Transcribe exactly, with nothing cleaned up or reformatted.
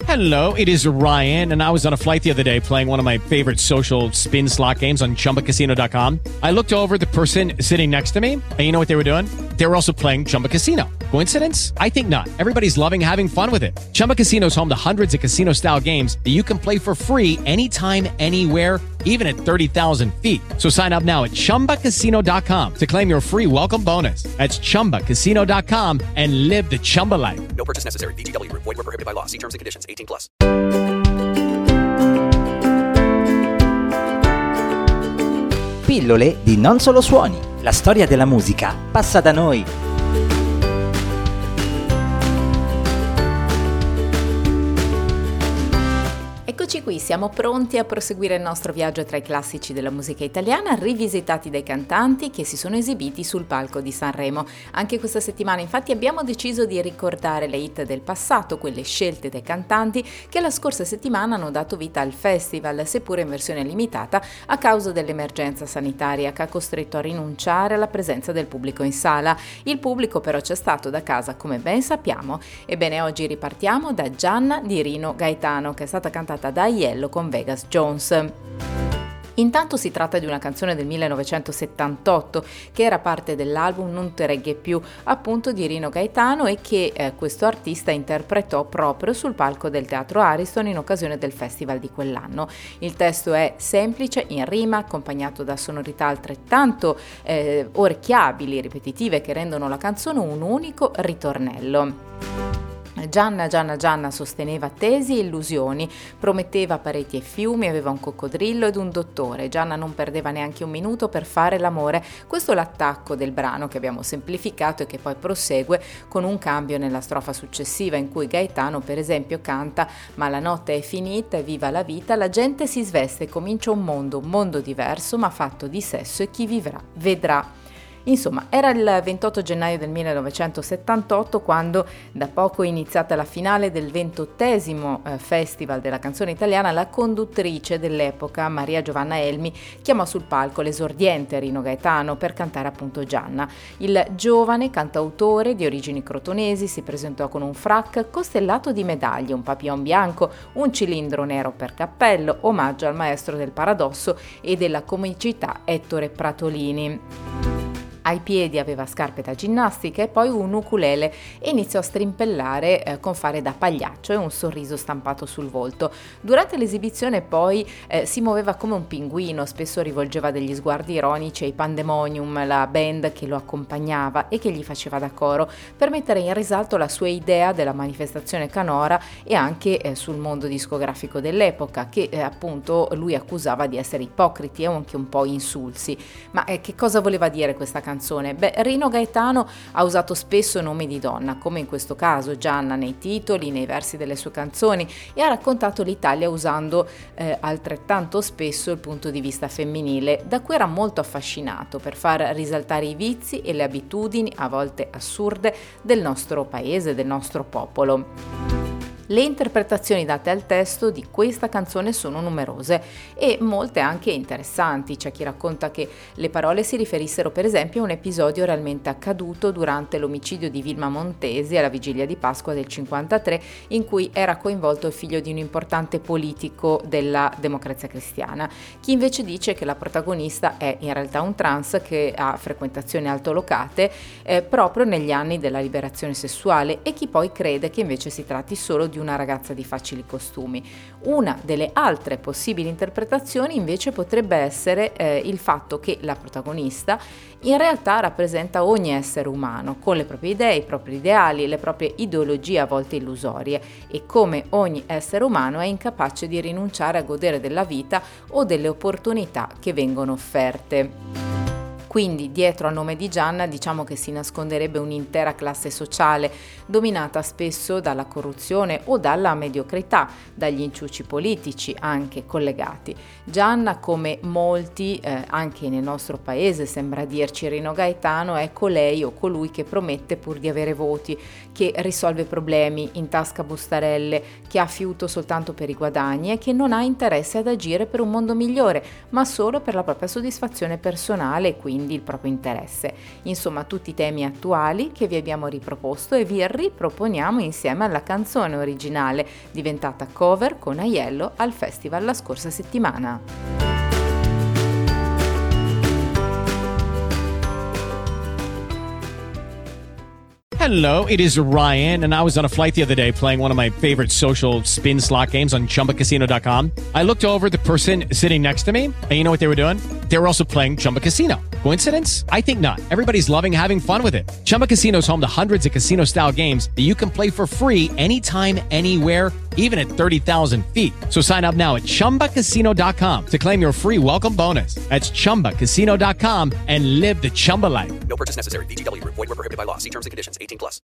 Hello, it is Ryan, and I was on a flight the other day playing one of my favorite social spin slot games on Chumba Casino dot com. I looked over at the person sitting next to me, and you know what they were doing? They were also playing Chumba Casino. Coincidence? I think not. Everybody's loving having fun with it. Chumba Casino is home to hundreds of casino-style games that you can play for free anytime, anywhere, even at thirty thousand feet. So sign up now at Chumba Casino dot com to claim your free welcome bonus. That's Chumba Casino dot com and live the Chumba life. No purchase necessary. V G W. Void where prohibited by law. See terms and conditions. eighteen plus. Pillole di Non Solo Suoni. La storia della musica passa da noi. Eccoci qui, siamo pronti a proseguire il nostro viaggio tra i classici della musica italiana, rivisitati dai cantanti che si sono esibiti sul palco di Sanremo. Anche questa settimana infatti abbiamo deciso di ricordare le hit del passato, quelle scelte dai cantanti che la scorsa settimana hanno dato vita al festival, seppure in versione limitata a causa dell'emergenza sanitaria che ha costretto a rinunciare alla presenza del pubblico in sala. Il pubblico però c'è stato da casa, come ben sappiamo. Ebbene, oggi ripartiamo da Gianna di Rino Gaetano, che è stata cantata da Aiello con Vegas Jones. Intanto si tratta di una canzone del millenovecentosettantotto che era parte dell'album Non te regge più, appunto di Rino Gaetano, e che eh, questo artista interpretò proprio sul palco del Teatro Ariston in occasione del festival di quell'anno. Il testo è semplice, in rima, accompagnato da sonorità altrettanto eh, orecchiabili, ripetitive, che rendono la canzone un unico ritornello. Gianna, Gianna, Gianna sosteneva tesi e illusioni, prometteva pareti e fiumi, aveva un coccodrillo ed un dottore. Gianna non perdeva neanche un minuto per fare l'amore. Questo è l'attacco del brano che abbiamo semplificato e che poi prosegue con un cambio nella strofa successiva in cui Gaetano per esempio canta: ma la notte è finita e viva la vita, la gente si sveste e comincia un mondo, un mondo diverso ma fatto di sesso e chi vivrà vedrà. Insomma, era il ventotto gennaio del millenovecentosettantotto quando, da poco iniziata la finale del ventottesimo eh, Festival della canzone italiana, la conduttrice dell'epoca, Maria Giovanna Elmi, chiamò sul palco l'esordiente Rino Gaetano per cantare appunto Gianna. Il giovane cantautore di origini crotonesi si presentò con un frac costellato di medaglie, un papillon bianco, un cilindro nero per cappello, omaggio al maestro del paradosso e della comicità Ettore Pratolini. Ai piedi aveva scarpe da ginnastica e poi un ukulele e iniziò a strimpellare eh, con fare da pagliaccio e un sorriso stampato sul volto. Durante l'esibizione poi eh, si muoveva come un pinguino, spesso rivolgeva degli sguardi ironici ai Pandemonium, la band che lo accompagnava e che gli faceva da coro, per mettere in risalto la sua idea della manifestazione canora e anche eh, sul mondo discografico dell'epoca, che eh, appunto lui accusava di essere ipocriti e anche un po' insulsi. Ma eh, che cosa voleva dire questa canzone? Beh, Rino Gaetano ha usato spesso nomi di donna, come in questo caso Gianna nei titoli, nei versi delle sue canzoni, e ha raccontato l'Italia usando eh, altrettanto spesso il punto di vista femminile, da cui era molto affascinato per far risaltare i vizi e le abitudini, a volte assurde, del nostro paese, del nostro popolo. Le interpretazioni date al testo di questa canzone sono numerose e molte anche interessanti. C'è chi racconta che le parole si riferissero per esempio a un episodio realmente accaduto durante l'omicidio di Vilma Montesi alla vigilia di Pasqua del cinquantatré, in cui era coinvolto il figlio di un importante politico della Democrazia Cristiana. Chi invece dice che la protagonista è in realtà un trans che ha frequentazioni altolocate eh, proprio negli anni della liberazione sessuale, e chi poi crede che invece si tratti solo di una ragazza di facili costumi. Una delle altre possibili interpretazioni invece potrebbe essere eh, il fatto che la protagonista in realtà rappresenta ogni essere umano, con le proprie idee, i propri ideali, le proprie ideologie a volte illusorie, e come ogni essere umano è incapace di rinunciare a godere della vita o delle opportunità che vengono offerte. Quindi dietro al nome di Gianna diciamo che si nasconderebbe un'intera classe sociale dominata spesso dalla corruzione o dalla mediocrità, dagli inciuci politici anche collegati. Gianna, come molti eh, anche nel nostro paese, sembra dirci Rino Gaetano, è colei o colui che promette pur di avere voti, che risolve problemi, intasca bustarelle, che ha fiuto soltanto per i guadagni e che non ha interesse ad agire per un mondo migliore, ma solo per la propria soddisfazione personale e quindi quindi il proprio interesse. Insomma, tutti temi attuali che vi abbiamo riproposto e vi riproponiamo insieme alla canzone originale, diventata cover con Aiello al festival la scorsa settimana. Hello, it is Ryan, and I was on a flight the other day playing one of my favorite social spin slot games on Chumba Casino dot com. I looked over at the person sitting next to me, and you know what they were doing? They were also playing Chumba Casino. Coincidence? I think not. Everybody's loving having fun with it. Chumba Casino is home to hundreds of casino-style games that you can play for free anytime, anywhere, even at thirty thousand feet. So sign up now at Chumba Casino dot com to claim your free welcome bonus. That's Chumba Casino dot com and live the Chumba life. No purchase necessary. V G W. Void where prohibited by law. See terms and conditions. eighteen plus.